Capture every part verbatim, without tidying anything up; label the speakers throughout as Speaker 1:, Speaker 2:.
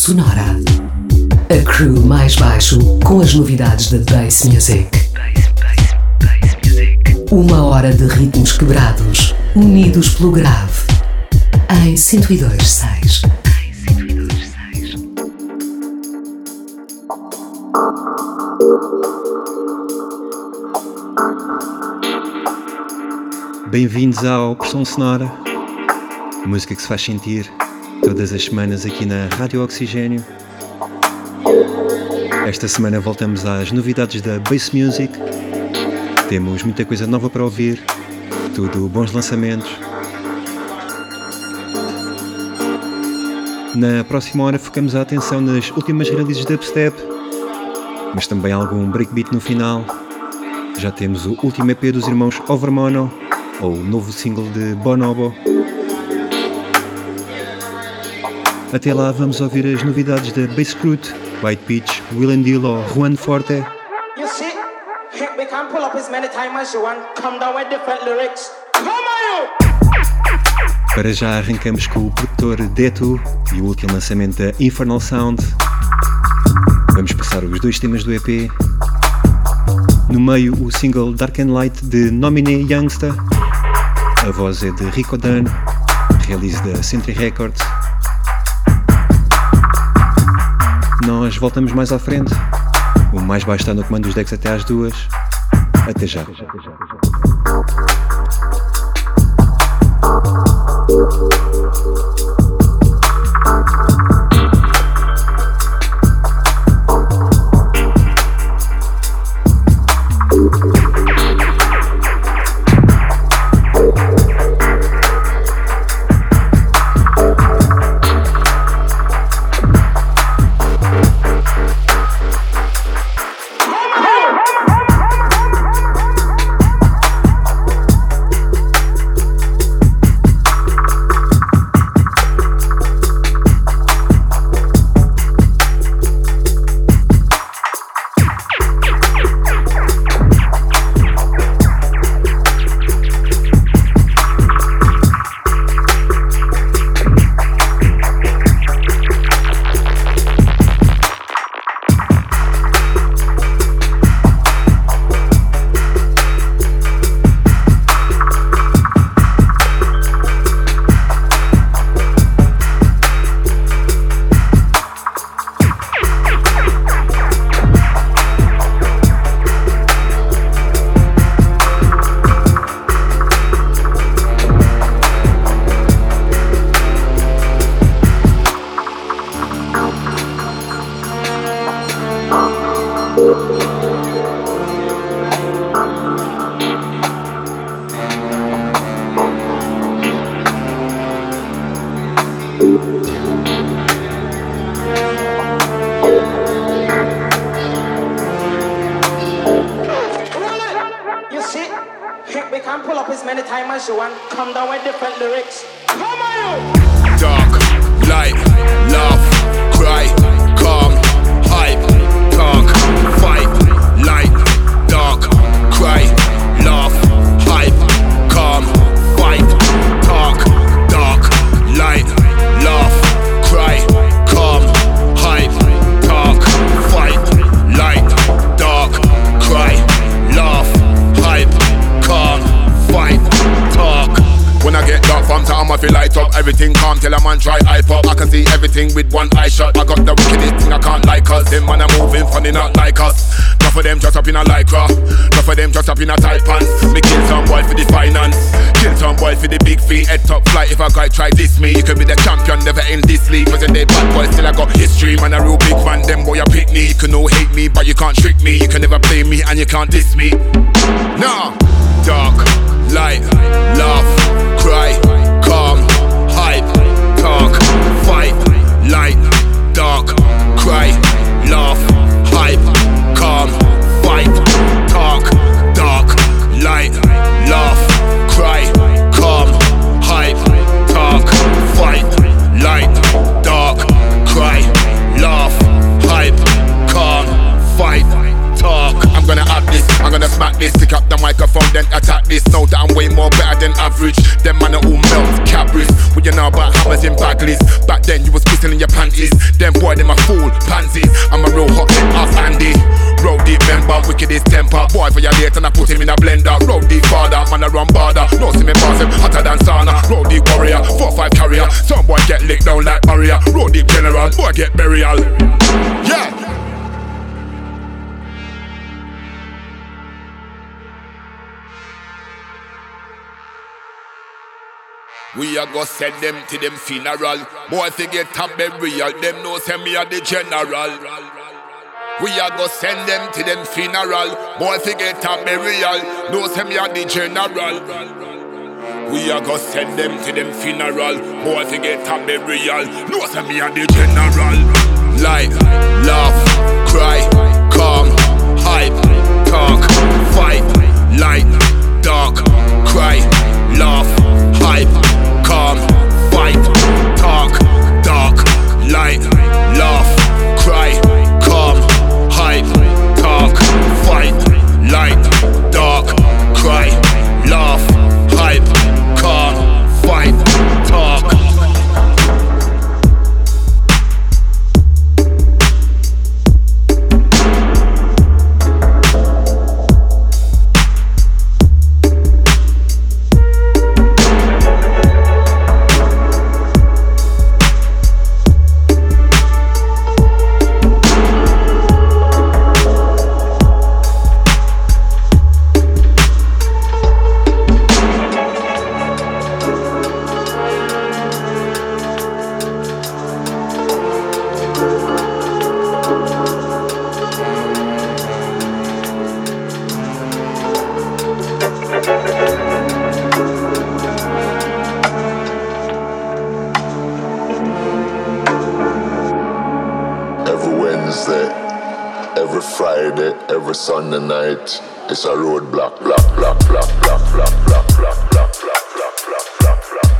Speaker 1: Sonora. A crew mais baixo com as novidades da Bass Music. Uma hora de ritmos quebrados, unidos pelo grave. Em cento e dois ponto seis.
Speaker 2: Bem-vindos ao Pressão Sonora, música que se faz sentir todas as semanas aqui na Rádio Oxigênio. Esta semana voltamos às novidades da Bass Music. Temos muita coisa nova para ouvir, tudo bons lançamentos. Na próxima hora focamos a atenção nas últimas releases de dubstep, mas também algum breakbeat no final. Já temos o último E P dos irmãos Overmono, ou o novo single de Bonobo. Até lá vamos ouvir as novidades da Bass Crute, White Peach, Will and Deal ou Juan Forte.
Speaker 3: You see, we can pull up as many times as you want, come down with different lyrics. Come on, you!
Speaker 2: Para já arrancamos com o produtor Detu e o último lançamento da Infernal Sound. Vamos passar os dois temas do E P. No meio, o single Dark and Light de Nominee Youngsta. A voz é de Rico Dunn, release da Century Records. Nós voltamos mais à frente. O mais baixo está no comando dos decks até às duas. Até já. Até já, até já, até já.
Speaker 4: Can't diss me. Nah. Dark, light, laugh, cry, calm, hype, talk, fight, light, dark, cry, laugh, hype, calm, fight, talk, dark, light, laugh, cry, calm, hype, talk, fight, light, dark, cry, laugh, hype, calm, fight, talk. I'm gonna act this. I'm gonna smack this, pick up the microphone, then attack this. Know that I'm way more better than average. Them man are all melt, Cadbury's. What you know about hammers in Bagley's? Back then you was kissing in your panties. Them boy, them a fool, pansies. I'm a real hot head, ass Andy. Road deep member, wicked is temper. Boy violate and I put him in a blender. Road deep father, man a run border. No see me pass him, hotter than sauna. Road deep warrior, four five carrier. Some boy get licked down like barrier. Road deep general, boy get burial. Yeah. We a go send them to them funeral. Boy if they get a burial, them know send me a the general. We a go send them to them funeral. Boy if they get a burial, know send me a the general. We a go send them to them funeral. Boy if they get a burial, know send me a the general. Light, laugh, cry, calm, hype, talk, fight. Light, dark, cry, laugh, hype, calm, fight, talk, dark, light, laugh, cry, calm, hype, talk, fight, light, dark, cry, laugh, hype, calm, fight, talk.
Speaker 5: Every Sunday night, it's a roadblock, block, block, block, block, block, block, block, block, block, block,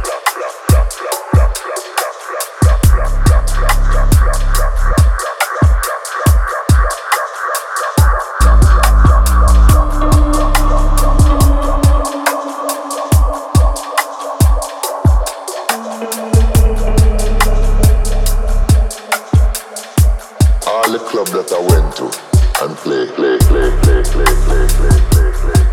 Speaker 5: all the club that I went to and play, play, play, play, play, play, play, play, play,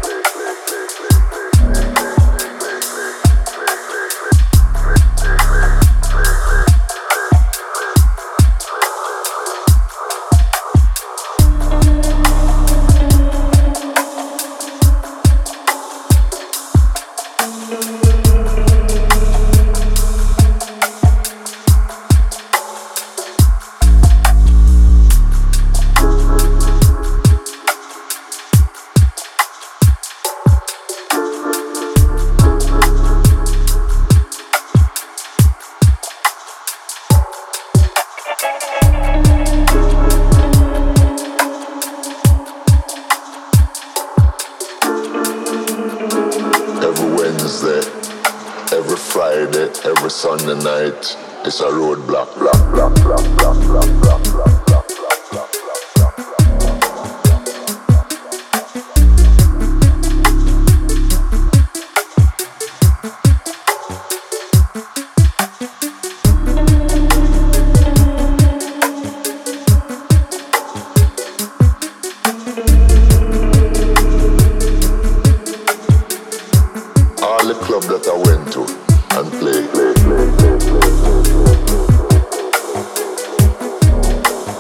Speaker 5: Sunday night, it's a roadblock, block, block, block, block, block, block, block, block, block, block. All the club that I went to and play, play, play, play, play, play, play.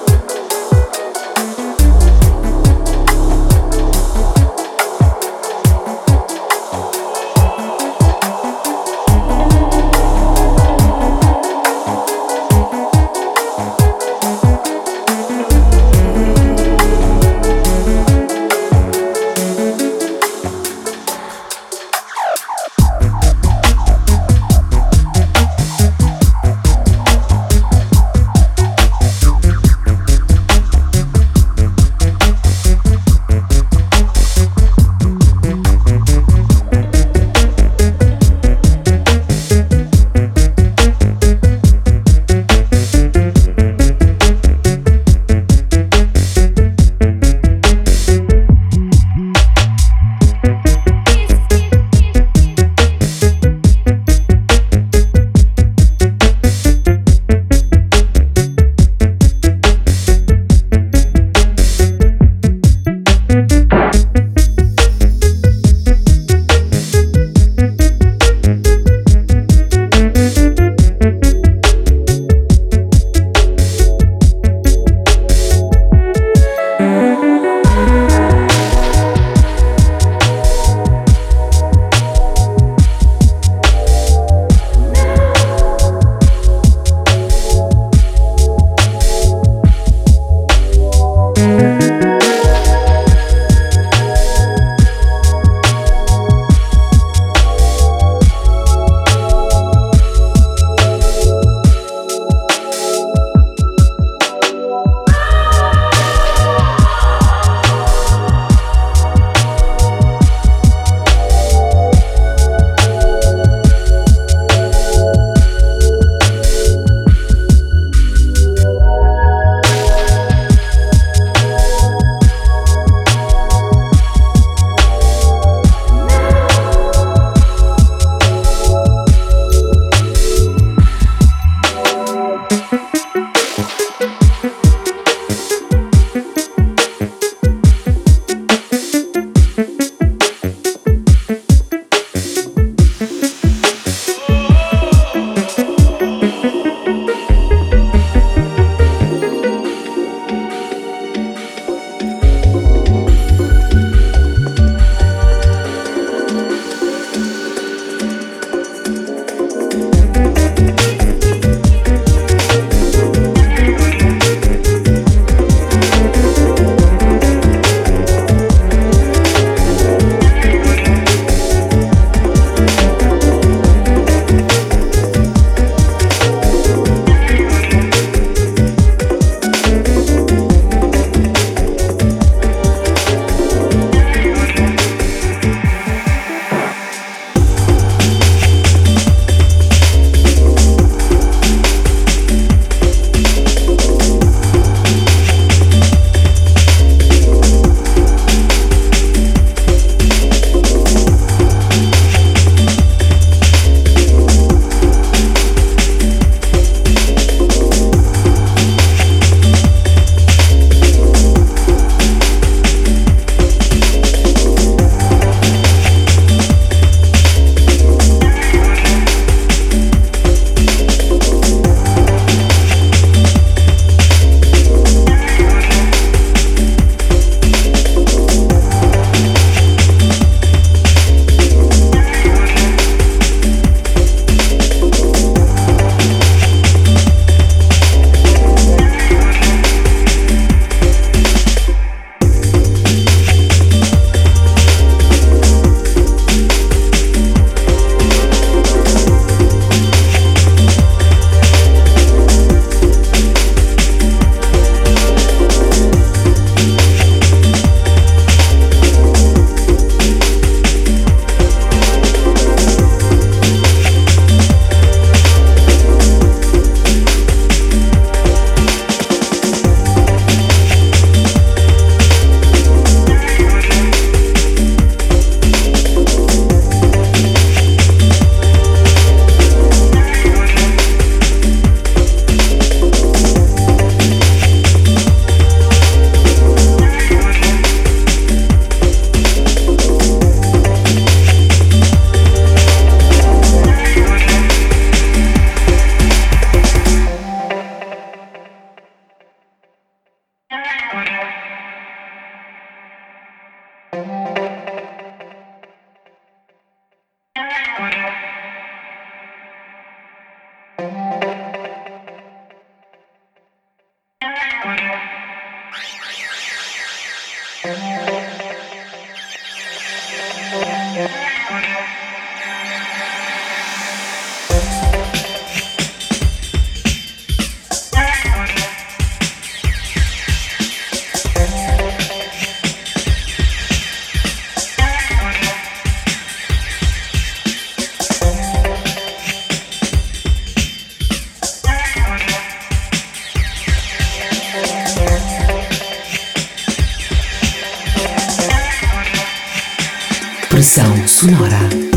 Speaker 1: Pressão sonora.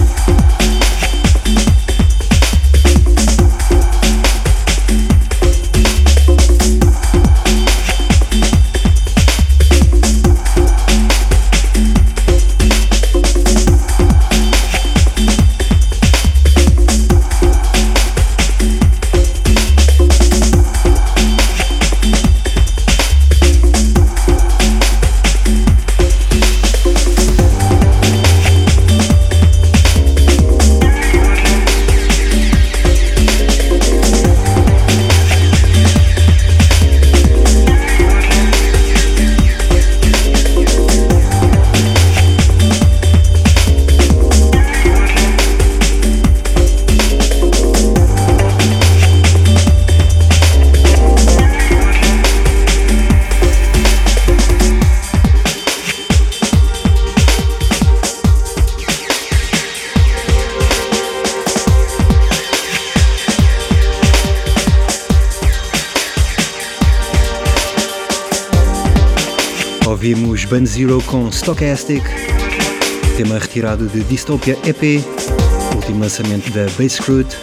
Speaker 2: Ouvimos Band Zero com Stochastic, tema retirado de Dystopia E P, último lançamento da Basscrute.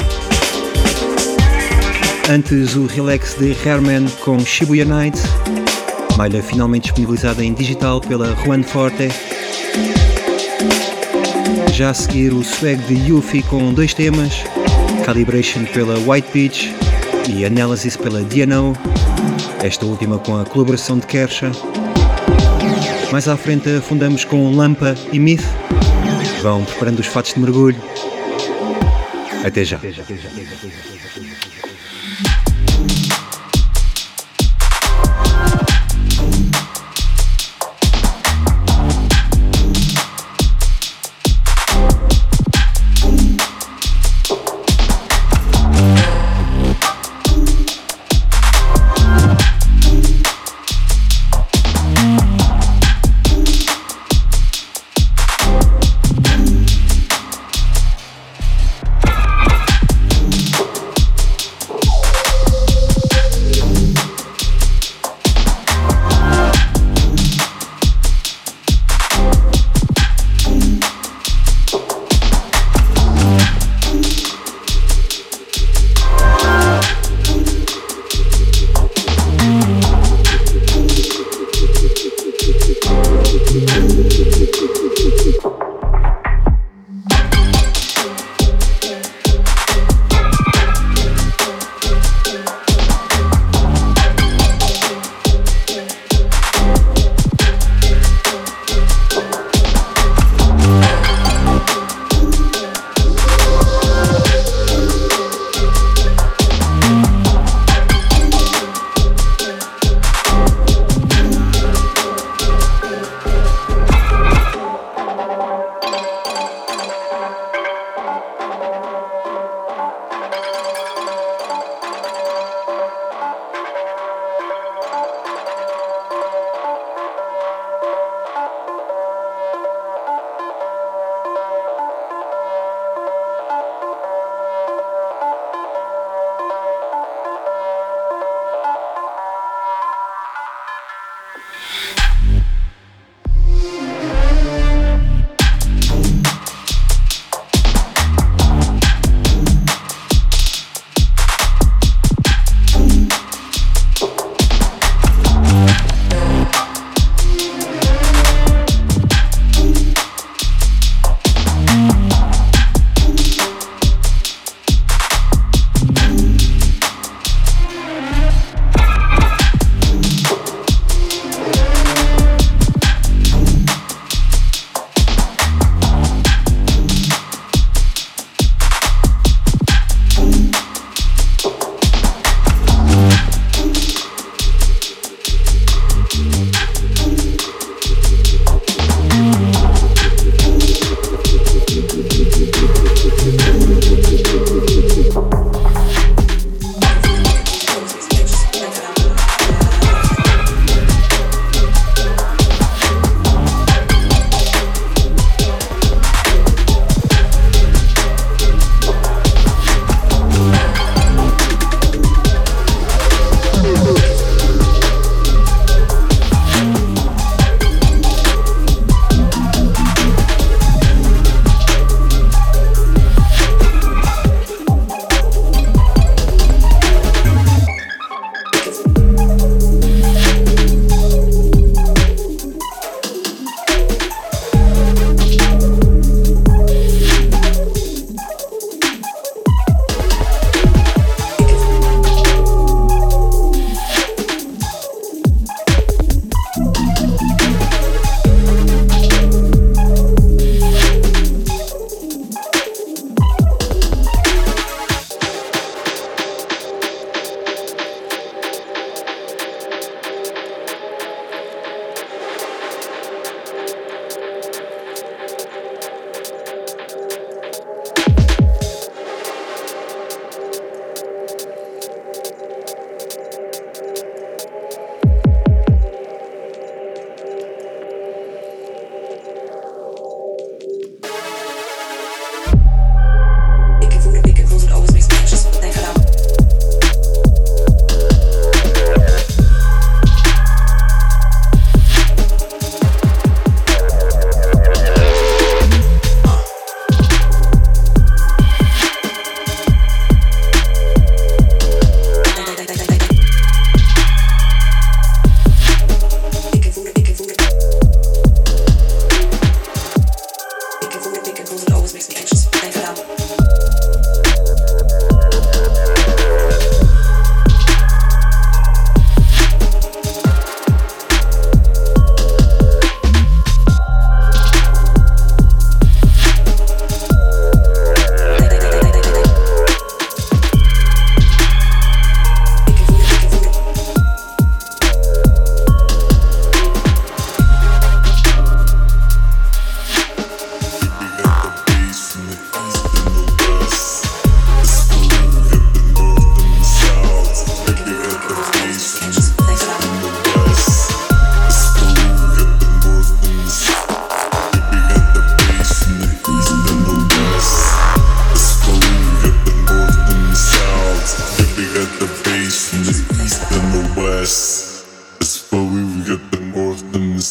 Speaker 2: Antes o Relax de Herman com Shibuya Night, malha finalmente disponibilizada em digital pela Juan Forte. Já a seguir o swag de Yuffie com dois temas, Calibration pela White Beach e Analysis pela D N O, esta última com a colaboração de Kersha. Mais à frente afundamos com Lampa e Myth. Vão preparando os fatos de mergulho. Até já. Até já.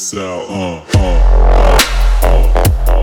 Speaker 6: south. Uh, uh, uh, uh, uh.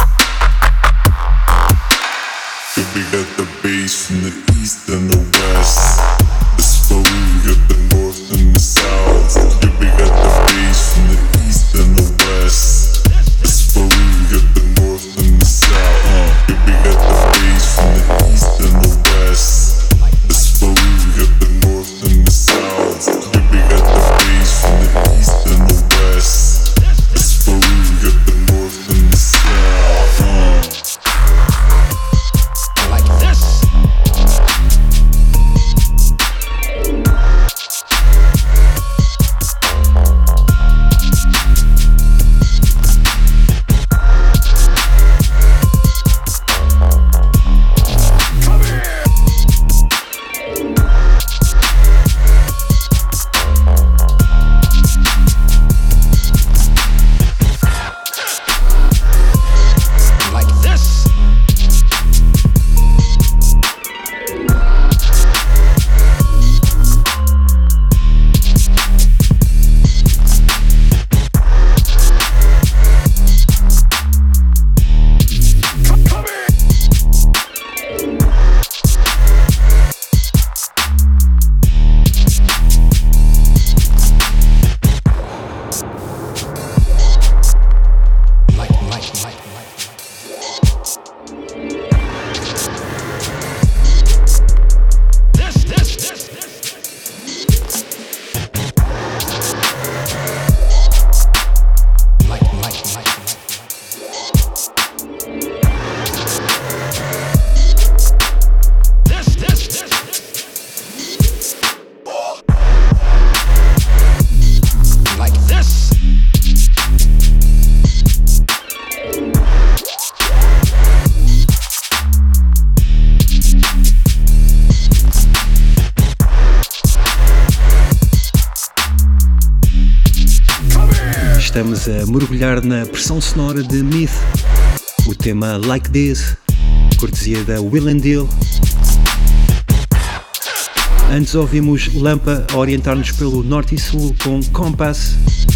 Speaker 7: We got the bass from the east and the west.
Speaker 2: estamos a mergulhar na pressão sonora de Myth, o tema Like This, cortesia da Will and Deal. Antes ouvimos Lampa a orientar-nos pelo norte e sul com Compass.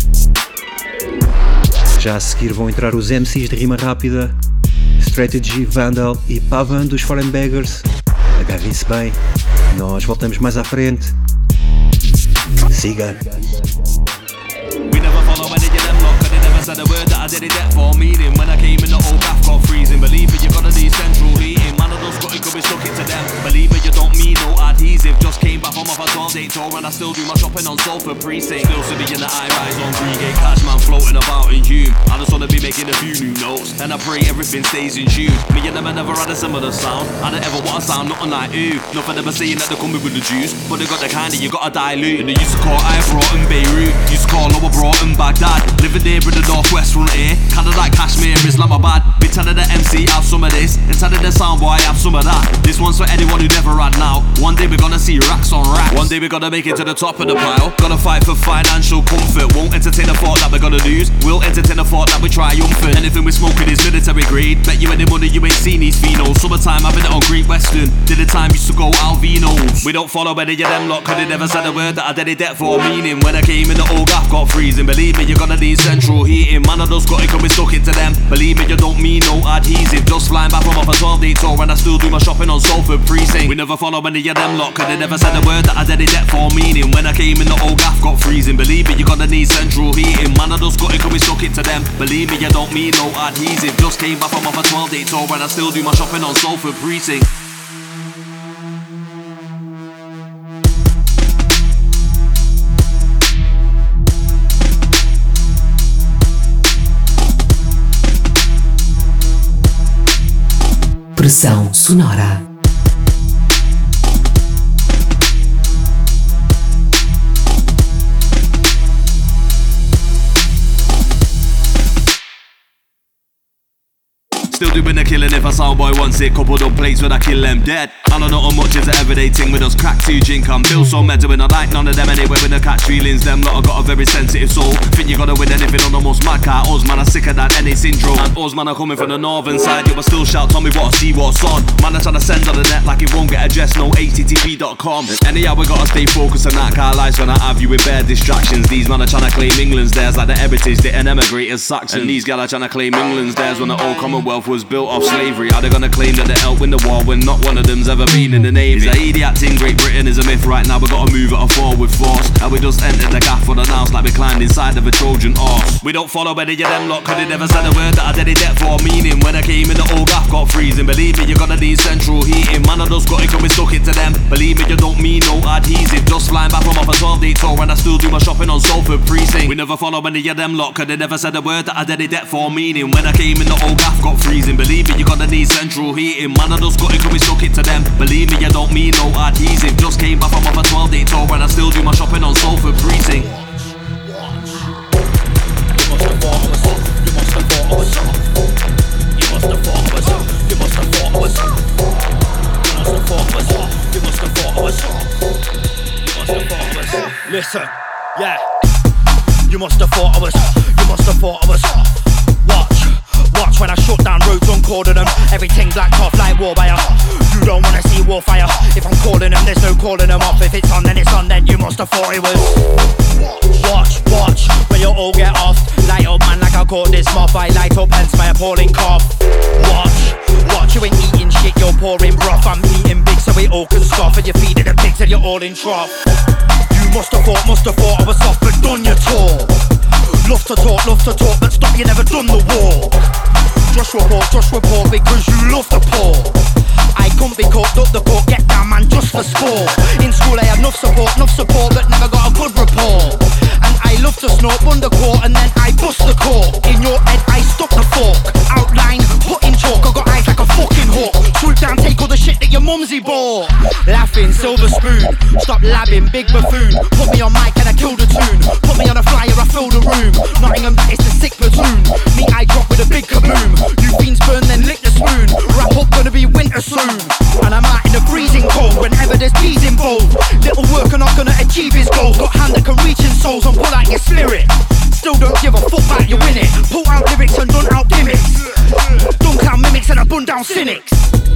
Speaker 2: Já a seguir vão entrar os M Cs de rima rápida, Strategy, Vandal e Pavan dos Foreign Beggars. Agarrem-se bem, nós voltamos mais à frente. Siga!
Speaker 7: Said the word that I did it that for meaning. When I came in the old gaff got freezing. Believe me, you gotta need central heating. Man, I don't got it, could be stuck it to them. Believe me, you don't mean no adhesive. Just came back from off a twelve day tour and I still do my shopping on Salford Precinct. Still to be in the high rise on Green Cash man floating about in Hume. I just wanna be making a few new notes and I pray everything stays in tune. Me and them I never had a similar sound. I don't ever want to sound nothing like ooh. Nothing ever saying that they coming with the juice, but they got the kind that you gotta dilute. And they used to call I brought in Beirut, used to call Lower Broughton Baghdad. Living there in the northwest frontier, kinda like Kashmir, Islamabad. Been telling the M C have some of this, and telling the soundboy have some of that. This one's for anyone who never had now. One day we're gonna see racks on racks. One day we're gonna make it to the top of the pile. Gotta fight for financial comfort. Won't entertain the thought that we're gonna lose. We'll entertain the thought that we're triumphant. Anything we're smoking is military grade. Bet you any money you ain't seen these phenos. Summertime I've been on Great Western. Did the time used to go Alvinos. We don't follow any of them lot, cause they never said a word that I did it that for meaning. When I came in the old gaff got freezing. Believe me, you're gonna need central heating. Man, I just got it, cause we stuck it to them. Believe me, you don't mean no adhesive. Just flying back from off a twelve day tour and I still do my shopping on Salford Precinct. We never follow any of them lot, cause they never said a word that I did it that for meaning. When I came in the old gaff got freezing. Believe me, you're gonna need central heating. Man, I just got it, cause we stuck it to them. Believe me, you don't mean no adhesive. Just came back from off a twelve day tour and I still do my shopping on Salford Precinct.
Speaker 1: Pressão sonora.
Speaker 7: Still doing the killing if a soundboy wants it. Couple of plates when I kill them dead. I don't know how much is an everyday thing with us crack two drink. I'm Bill so mental when I like none of them anyway. When I catch feelings, them lot I got a very sensitive soul. Think you gotta win anything on the most mad car. Us man are sick of that N A syndrome. And us man are coming from the northern side. You but still shout, tell me what I see, what's on. Man are trying to send on the net like it won't get addressed. No H T T P dot com. Anyhow we gotta stay focused on that car lives when I have you with bare distractions. These man are trying to claim England's theirs like the heritage they and emigrate as Saxons. And these gal are trying to claim England's theirs when the old Commonwealth was built off slavery. Are they gonna claim that they helped win the war when not one of them's ever been in the Navy? Is a idiot thing Great Britain is a myth right now. We gotta move it forward force. And we just entered the gaff for the house like we climbed inside of a Trojan horse. We don't follow any of them lot, cause they never said a word that I did it that for meaning. When I came in the old gaff got freezing. Believe me, you're gonna need central heating. Man, I just got it, cause we stuck it to them. Believe me, you don't mean no adhesive. Just flying back from off a twelve day tour and I still do my shopping on Salford Precinct. We never follow any of them lot, cause they never said a word that I did it that for meaning. When I came in the old gaff got freezing. Believe me, you're gonna need central heating. Man, I just got it, cause we stuck it to them. Believe me, you don't mean no adhesive. Just came back from off a twelve day tour and I still do my shopping on Salford Precinct. You must have thought I was off. You must have thought I was off. You must have thought I was off. You must have thought I was off. You must have thought I was off. You must have thought I was off. You must have thought I was off. Listen, yeah. You must have thought I was off. You must have thought I was off. Watch. Watch when I shut down roads on cordon them. Everything blacked off like war wire. You don't wanna see warfire. If I'm calling them, there's no calling them off. If it's on, then it's on, then you must have thought it was. Watch, watch, when you all get off. Light up man like I caught this moth. I light up hence my appalling cough. Watch, watch, you ain't eating shit, you're pouring broth. I'm eating big so we all can scoff. And you're feeding the pigs and you're all in trough. You must have thought, must have thought I was soft, but done your tour. Love to talk, love to talk, but stop, you never done the war. Just report, just report, because you love the poor. I couldn't be caught, up the court, get down man, just for sport. In school I had enough support, enough support, but never got a good report. And I love to snort, run the court, and then I bust the cork. In your head I stuck the fork, outline, put in chalk. I got eyes like a fucking hawk. Swoop down, take all the shit that your mumsy bought. Laughing, silver spoon, stop labbing, big buffoon. Put me on mic and I kill the tune. Put me on a flyer, I fill the room. Nottingham, that is the sick platoon. Me, I drop with a big kaboom. You fiends burn, then lick the spoon. Wrap up, gonna be winter soon. And I'm out in the freezing cold whenever there's peas involved. Little worker not gonna achieve his goals. Got hand that can reach in souls and pull out your spirit. Still don't give a fuck cynics.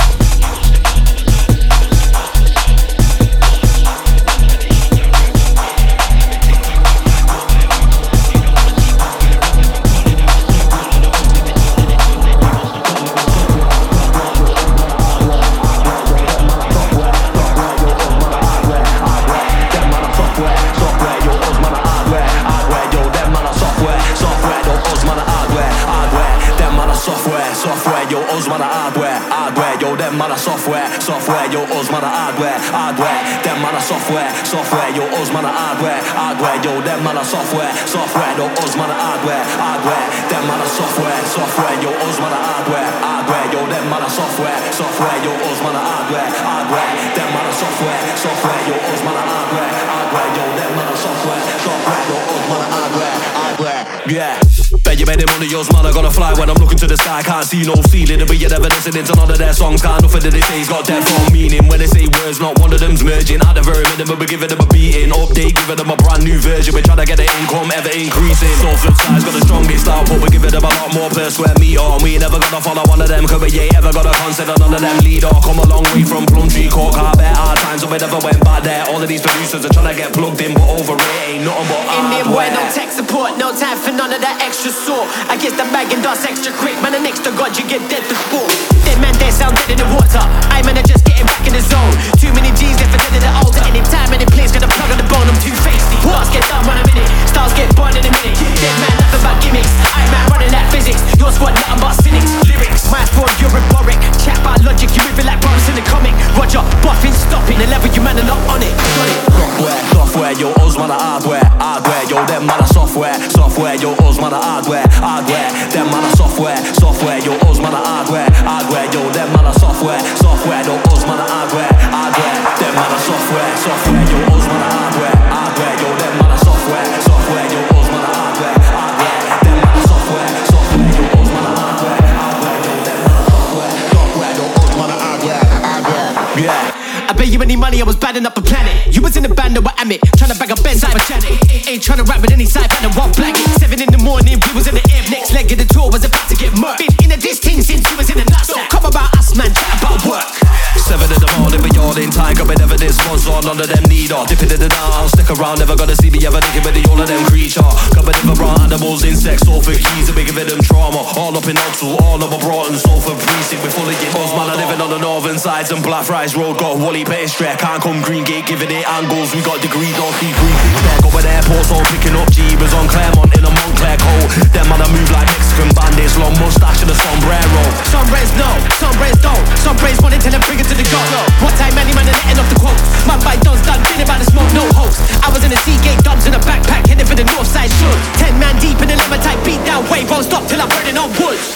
Speaker 8: Software, software, yo, us man a hardware, hardware, them man a software, software, yo, us man a hardware, hardware, yo, them man a software, software, yo, us man a hardware, hardware, them man a software, software, yo, us man a hardware, hardware, yo, them man a software, software, yo, us man a hardware, hardware, them man a software, software, yo, us man a hardware, hardware, yo, them man a software, software, yo, us man a hardware, hardware, yeah. Bet you made it money, yours man, I gotta fly when I'm looking to the sky. Can't see no ceiling, but you're never listening to none of their songs. Can't nothing that they say's got dead from meaning. When they say words, not one of them's merging. At the very minimum, we're giving them a beating. Update, giving them a brand new version. We're trying to get the income ever increasing. So flip side's got the strongest output. We're giving them a lot more per square meter. And we ain't never gonna follow one of them, cause we ain't ever gonna consider none of them leader. Come a long way from Plumtree Court, I bet hard times, so we never went back there. All of these producers are trying to get plugged in, but over it ain't nothing but
Speaker 9: Indian boy,
Speaker 8: hardware.
Speaker 9: no tech support, no time for none of that extra sort. I guess the bag and dust extra quick, man, and next to God you get dead to sport. Dead man, they sound dead in the water. I man are just getting back in the zone. Too many G's left for dead in the altar. Any time, any place, got a plug on the bone, I'm too feisty. Wars get done run a minute, stars get burned in a minute. Dead man, nothing but gimmicks. I man running that physics. Your squad nothing but cynics. Lyrics, my fraud, you're rhetoric. Chat about logic, you moving like brothers in the comic. Roger, buffing, stopping. The level you man are not on it. Got it.
Speaker 8: Software, software, yo, us man a hardware, hardware, yo, them man a software, software, yo, us man a hardware, hardware, them man a software, software, yo, us man a hardware, hardware, yo, them man a software, software, yo, us man a hardware, hardware, them man a software, software, yo, us man a hardware, hardware, yo, them man a software, software, yo, us man a hardware, hardware, them man a software, software, yo, us man a hardware, hardware, yo, them man a software, software, yo, us man a hardware, hardware, yeah.
Speaker 9: I bet you any money, I was badding up the planet. You was in the band that were Amit, trying to bag a Benz out of Janet. Ain't trying to rap with any side band and one blanket. Seven in the morning, we was in the air. Next leg of the tour was about to get murked. Been in a this thing since you was in the nuts. Don't come about us, man, chat about work.
Speaker 8: Seven in the morning, we all in time. Got me never this sponsor, none of them need her. Dipping in the down, I'll stick around. Never gonna see me ever thinking with the all of them creature. Got me never brought animals, insects, all for keys. And we giving them trauma. All up in Oxford, all over Broughton, Salford precinct. We're full of your buzz, man. I'm living on the northern sides and Blackfriars Road. Got Wally pastry, can't come Green Gate, giving it angles. We got degrees, don't see green. Going airports, all picking up Jeebers on Claremont in a Montclair coat. Them man, I move like Mexican bandits, long mustache and a sombrero.
Speaker 9: Some brains know, some brains don't. Some brains want it till they bring it to the go. What time any man and letting off the quote. Man by Don's done, been about the smoke, no host. I was in the Seagate dubs in a backpack, heading for the north side shook. Ten man deep in the lemon type beat down wave, won't stop till I'm burning on woods.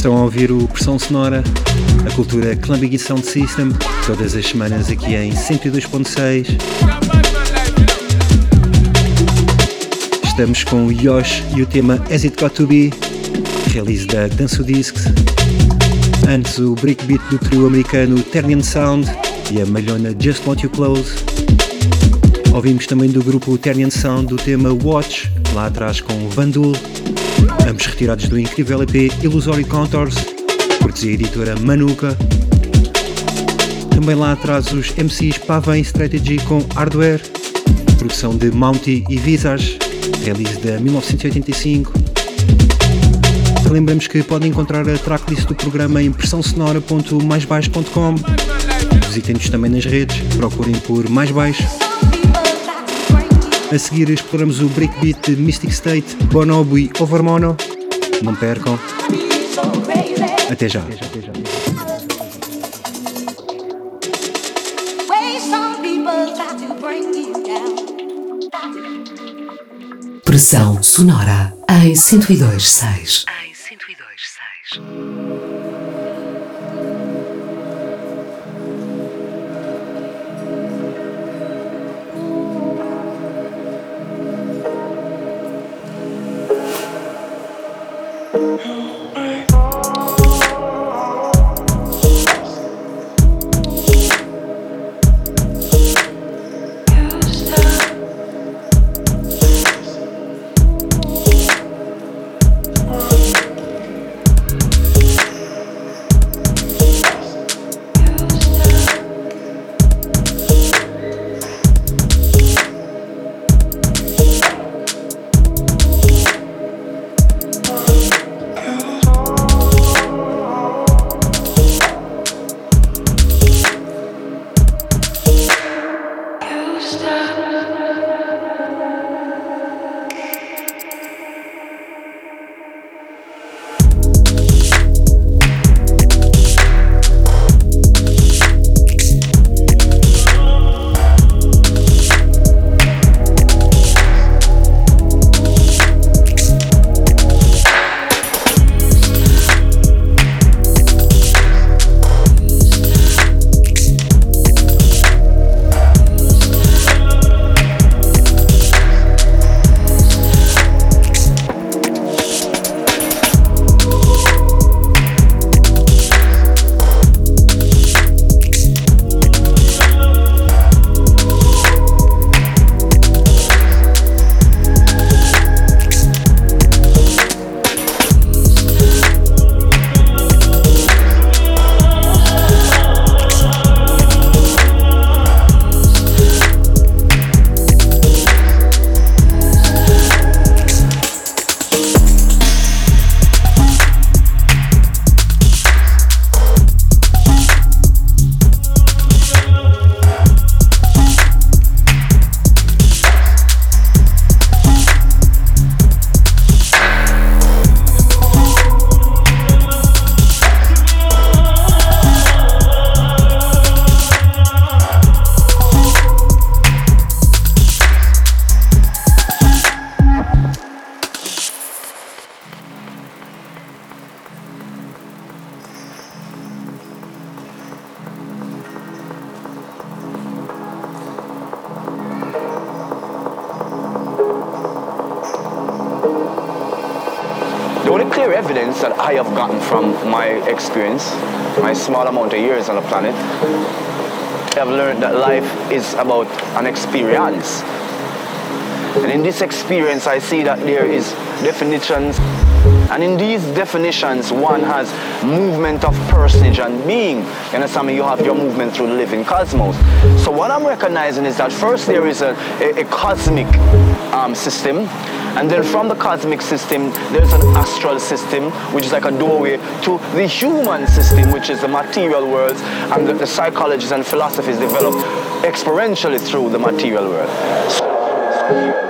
Speaker 2: Estão a ouvir o Pressão Sonora, a cultura Clubbing e Sound System, todas as semanas aqui em cento e dois ponto seis. Estamos com o Yosh e o tema As It Got To Be, release da Danço Discs. Antes o breakbeat do trio americano Ternian Sound e a malhona Just Want You Close. Ouvimos também do grupo Ternian Sound o tema Watch, lá atrás com Vandul, ambos retirados do incrível E P Illusory Contours, cortesia editora Manuka. Também lá atrás os M Cs Pavane Strategy com Hardware, produção de Mounty e Visage, release de mil novecentos e oitenta e cinco. Lembramos que podem encontrar a tracklist do programa em pressão sonora ponto mais baixo ponto com. Visitem-nos também nas redes, procurem por Mais Baixo. A seguir exploramos o breakbeat de Mystic State, Bonobo e Overmono. Não percam. Até já.
Speaker 1: Pressão sonora em cento e dois ponto seis.
Speaker 10: clear evidence that I have gotten from my experience, my small amount of years on the planet. I have learned that life is about an experience. And in this experience, I see that there is definitions. And in these definitions, one has movement of personage and being. You understand me? You have your movement through the living cosmos. So what I'm recognizing is that first there is a, a, a cosmic um, system. And then from the cosmic system, there's an astral system, which is like a doorway to the human system, which is the material world. And the, the psychologies and philosophies developed experientially through the material world. So,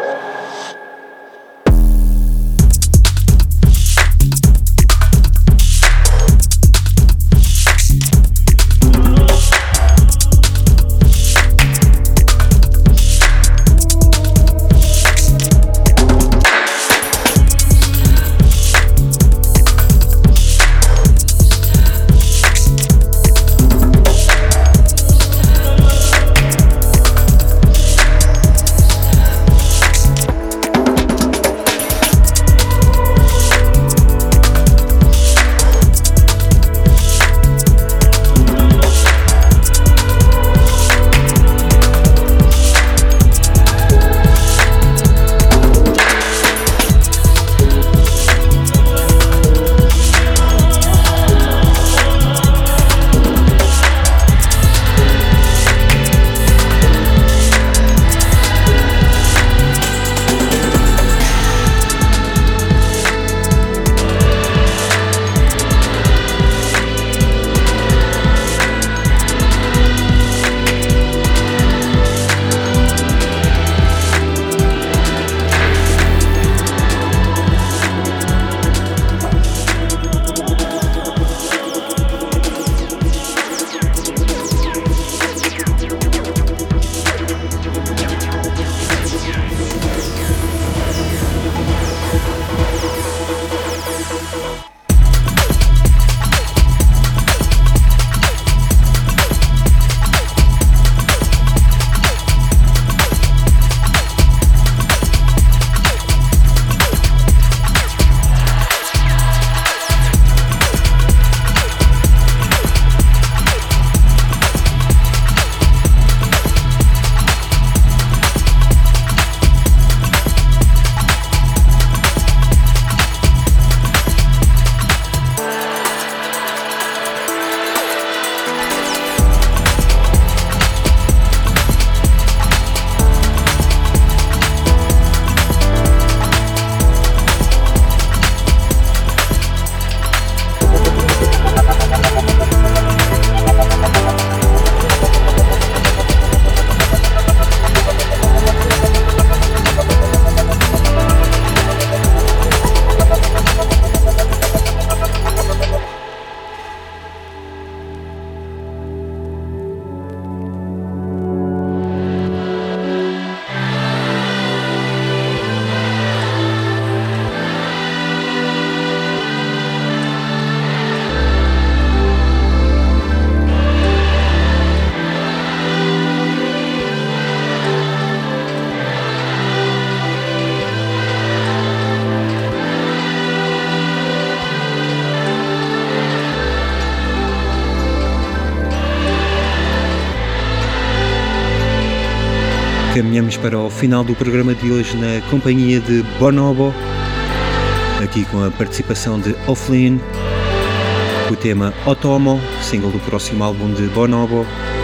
Speaker 2: Caminhamos para o final do programa de hoje na companhia de Bonobo, aqui com a participação de Offline, o tema Otomo, single do próximo álbum de Bonobo.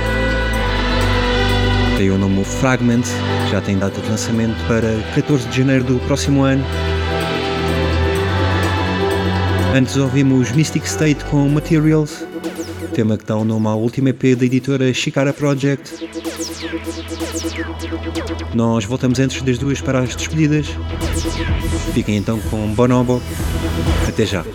Speaker 2: Tem o nome Fragment, já tem data de lançamento para catorze de janeiro do próximo ano. Antes ouvimos Mystic State com Materials, tema que dá o nome ao último E P da editora Shikara Project. Nós voltamos antes das duas para as despedidas. Fiquem então com Bonobo. Até já.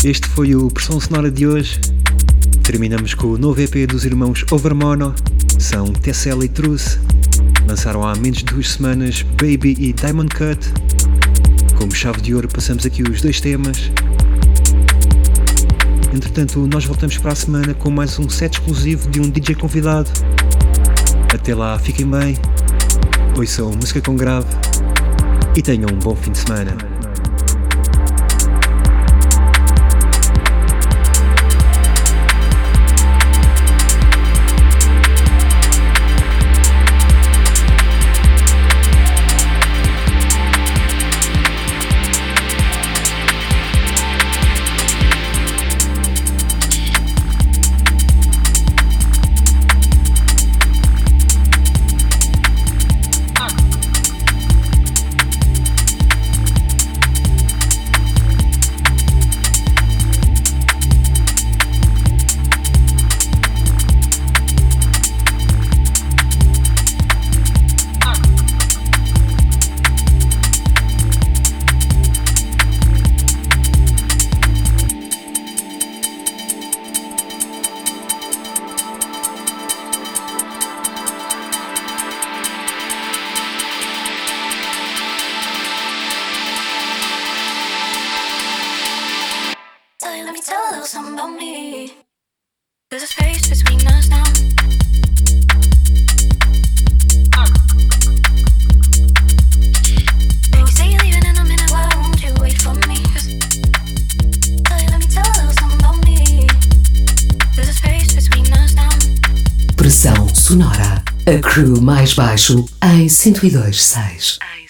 Speaker 2: Este foi o Pressão Sonora de hoje. Terminamos com o novo E P dos irmãos Overmono. São Tessella e Truce. Lançaram há menos de duas semanas Baby e Diamond Cut. Como chave de ouro passamos aqui os dois temas. Entretanto, nós voltamos para a semana com mais um set exclusivo de um D J convidado. Até lá, fiquem bem, ouçam música com grave e tenham um bom fim de semana.
Speaker 1: Pressão Sonora, a crew mais baixo em cento e dois ponto seis.